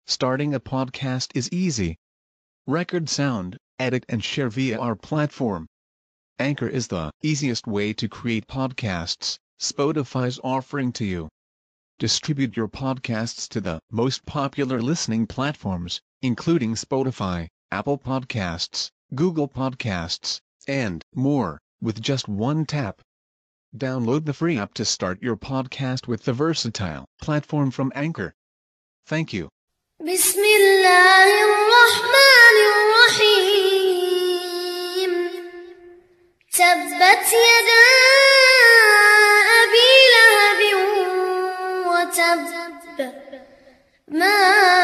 Starting a podcast is easy. Record sound, edit and share via our platform. Anchor is the easiest way to create podcasts Spotify's offering to you. Distribute your podcasts to the most popular listening platforms, including Spotify, Apple Podcasts, Google Podcasts, and more, with just one tap. Download the free app to start your podcast with the versatile platform from Anchor. Thank you. بسم الله الرحمن الرحيم تبت يدا أبي لهب وتب ما